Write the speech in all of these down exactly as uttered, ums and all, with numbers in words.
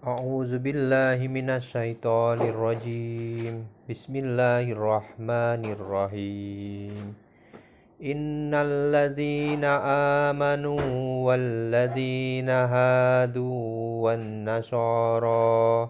A'udzu billahi minasyaitonir rajim. Bismillahirrahmanirrahim. Innal ladzina amanu wal ladzina hadu wan nasara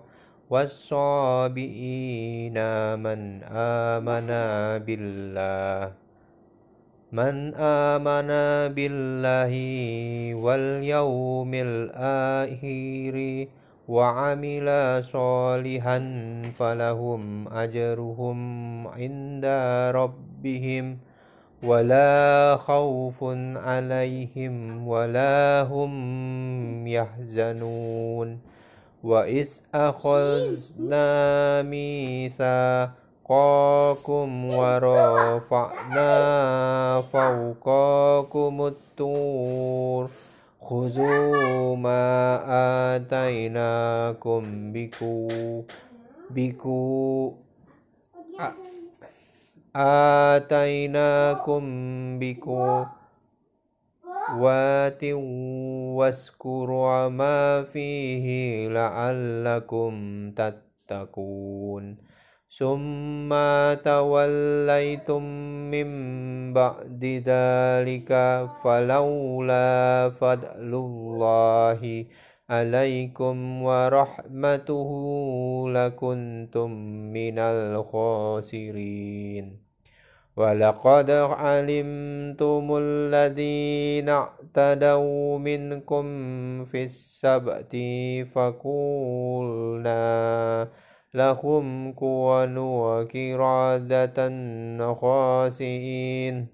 was-sabiina man amana billah Man amana billahi wal yawmil akhiri wa amila solihan falahum ajruhum inda rabbihim wala khawfun alaihim wala hum yahzanun. Wa is akhazna mitsaqakum wa rafa'na fawqakumut tur khuzu ma atainakum biku biku a- atainakum biku wati waskuru ma fihi la'allakum tattaqun. Summa tawallaitum min ba'di dzalika falawla fadlullahi alaikum wa rahmatuhu lakuntum minal khasirin. Walaqad alimtumul ladzina i'tadaw minkum fis sabti faqulna lahum kunu qiradatan khasiin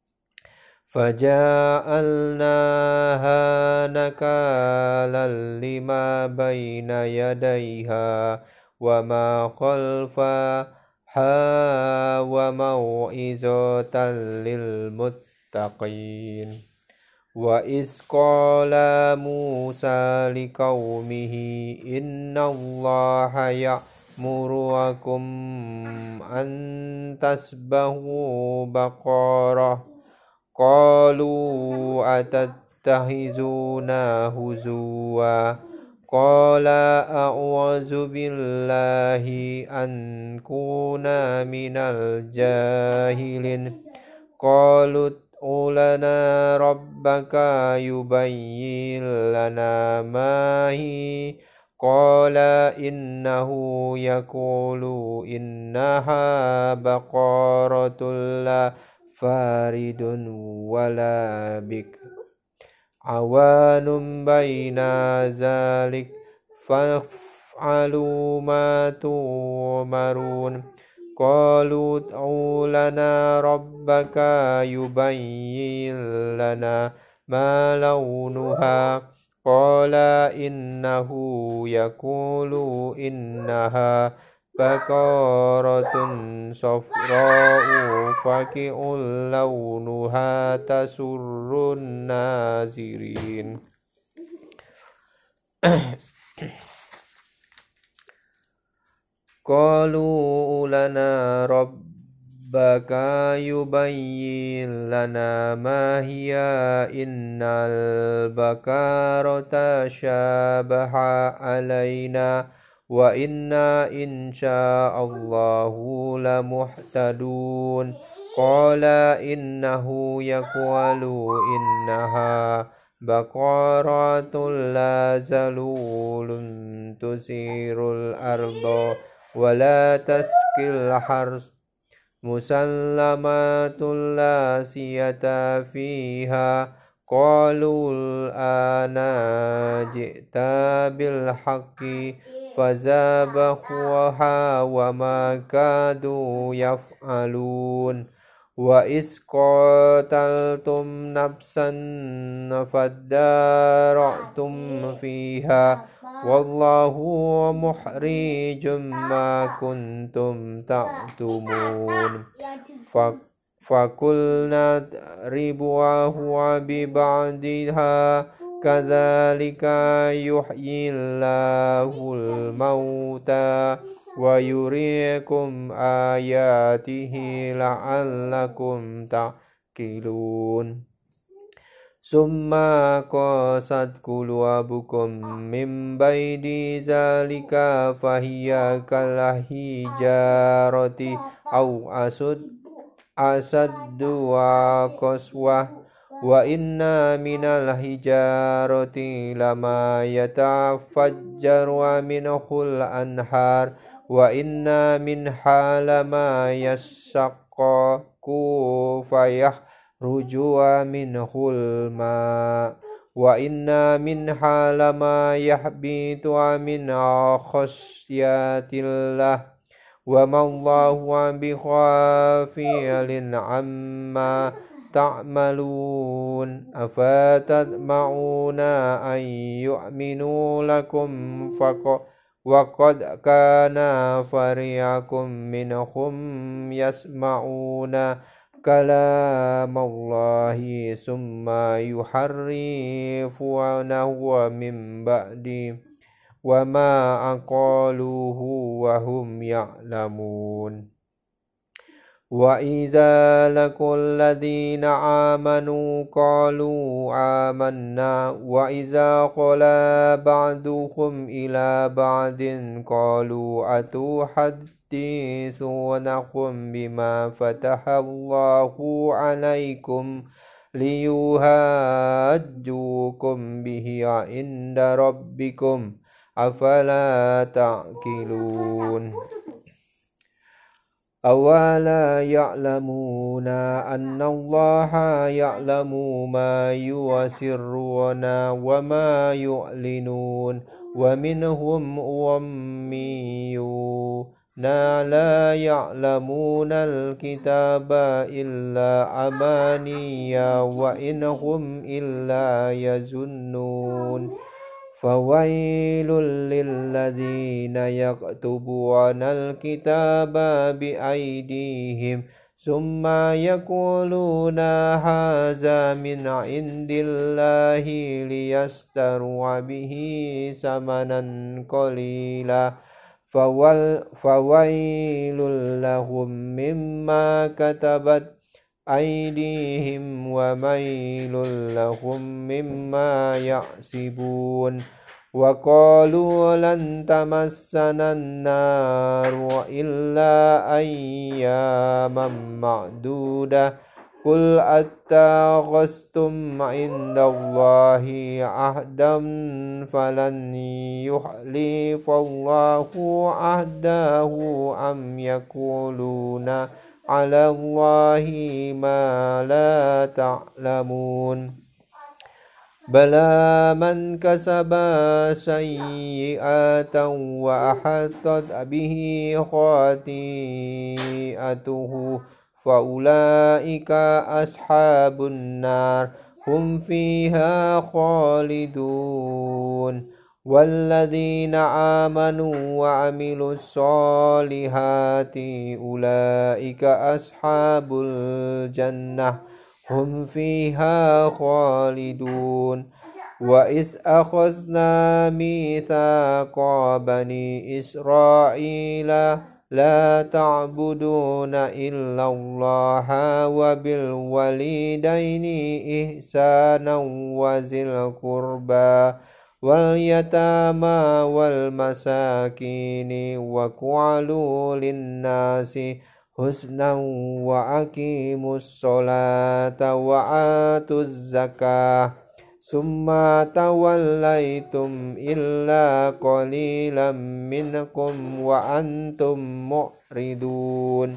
faja'alnaha nakalan lima baina yadayha wa ma khalfa ha wa mau'izatan lil muttaqin. Wa is qala Musa liqaumihi innallaha ya'murukum an tasbahu baqarah qalu atattahizuna huzuwa qala a'udzu billahi an kuna minal jahilin qalu ulana rabbaka yubayyin lana ma hi qala innahu yaqulu innaha baqaratul la faridun wala bik awanum baina zalik fa'alu ma tu'marun. Qalu ud'u lana rabbaka yubayyin lana ma launuha qala innahu yaqulu innaha baqaratun safra'u faqi'ul launuha tasurrun nazirin. Qalu lana rabbaka yubayyin lana ma hiya innal bakarata syabaha alaina wa inna insya'allahu lamuhtadun. Qala innahu yaqulu innaha baqaratul la zalulun tusirul ardo wala taskil hars musallamatul la siyata fiha qalul ana ji'ta bil haqqi fazabahuha wa ma kadu yaf'alun. Wa is qataltum nafsan fadara'tum fiha wallahu muhrijum ma kuntum ta'tumun. Fakulna ribuahu bi ba'diha kadzalika yuhyillahul mauta wa yuriikum ayatihi la'allakum ta'qilun. summa qasat qulubukum min baidi zalika fahiya kalahijarati au asud asaddu wa qaswah wa inna minal hijarati lama yatafajjaru minhul anhar wa inna minha lama yashaqqaqu fayahruju minhul ma wa inna minha lama yahbitu min khasyatillah wa mallahu bighafilin amma ta'malun afatatma'una an yu'minu lakum faqa wa qad kana fariqum minhum yasma'una kalamallahi summa yuharrifunahu min ba'di wa ma aqaluhu wa hum ya'lamun wa idza laqul ladina amanu qalu amanna wa idza qala ba'duhum ila ba'din qalu atuhaddithunakum bima fatahallahu alaikum liyuhajjukum bihi inda rabbikum afala ta'qilun awala ya'lamuna anna allaha ya'lamu ma yuwasirruna wa ma yu'linun wa minhum ummiyuna la ya'lamuna alkitaba illa amaniya wa inhum illa yazunnun fawailul lilladzina yaktubuna alkitaba biaydihim summa yaquluna haza min indillahi liyastaru bihi samanan qalila fawal fawailul lahum mimma katabat aydihim wa mailul lahum mimma ya'sibun wa qalu lan tamassana an-naru illa ayyaman ma'dudah qul attakhastum 'indallahi ahdan falan yuhlifallahu ahdahu am yaquluna ala Allahi ma la ta'lamun bala man kasaba sayyi'atan wa ahatat bihi khati'atuhu fa ulaika ashabun nar hum fiha khalidun والذين آمنوا وعملوا الصالحات أولئك أصحاب الجنة هم فيها خالدون وإذ أخذنا ميثاق بني إسرائيل لا تعبدون إلا الله وبالوالدين إحسانا وذي القربى واليتامى والمساكين وقولوا للناس حسنا وأقيموا الصلاة وآتوا الزكاة ثم توليتم إلا قليلا منكم وأنتم معرضون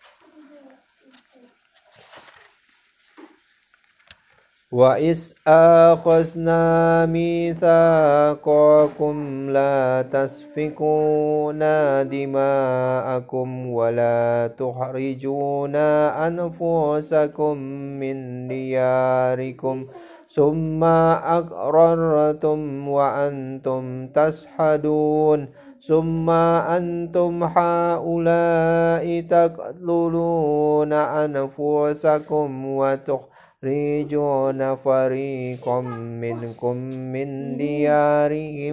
وَإِذْ أَخَذْنَا مِيثَاقَكُمْ لَا تَسْفِكُونَ دِمَاءَكُمْ وَلَا تُخْرِجُونَ أَنفُسَكُمْ مِنْ دِيَارِكُمْ ثُمَّ أَقْرَرْتُمْ وَأَنْتُمْ تَشْهَدُونَ ثُمَّ أَنْتُمْ هَؤُلَاءِ تَقْتُلُونَ أَنفُسَكُمْ وَتُخْرِجُونَ فريقا منكم من ديارهم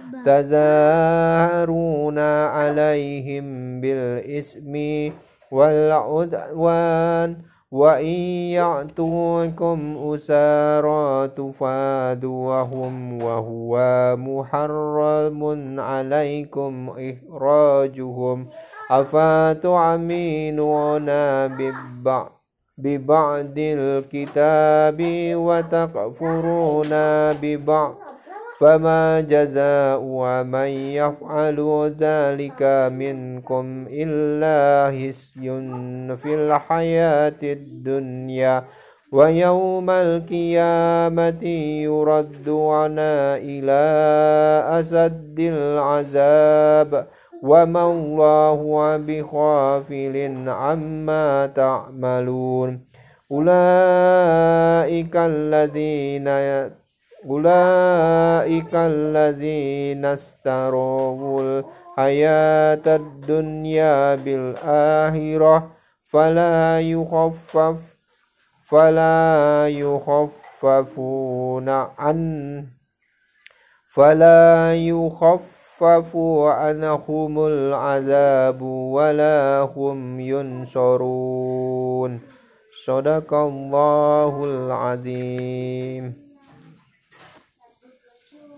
تظاهرون عليهم بالإثم والعدوان وإن يأتوكم أسارى تفادوهم وهو محرم عليكم إخراجهم أفتؤمنون ببعض ببعض الكتاب وتكفرون ببعض فما جزاء من يفعل ذلك منكم إلا خزي في الحياة الدنيا ويوم القيامة يردون إلى أشد العذاب وما الله بغافل عما تعملون أولئك الذين أولئك الذين اشتروا الحياة الدنيا بالآخرة فلا يخفف فلا يخففون عن فلا يخفف عنهم العذاب ولا هم ينصرون. Sadaqallahul azim.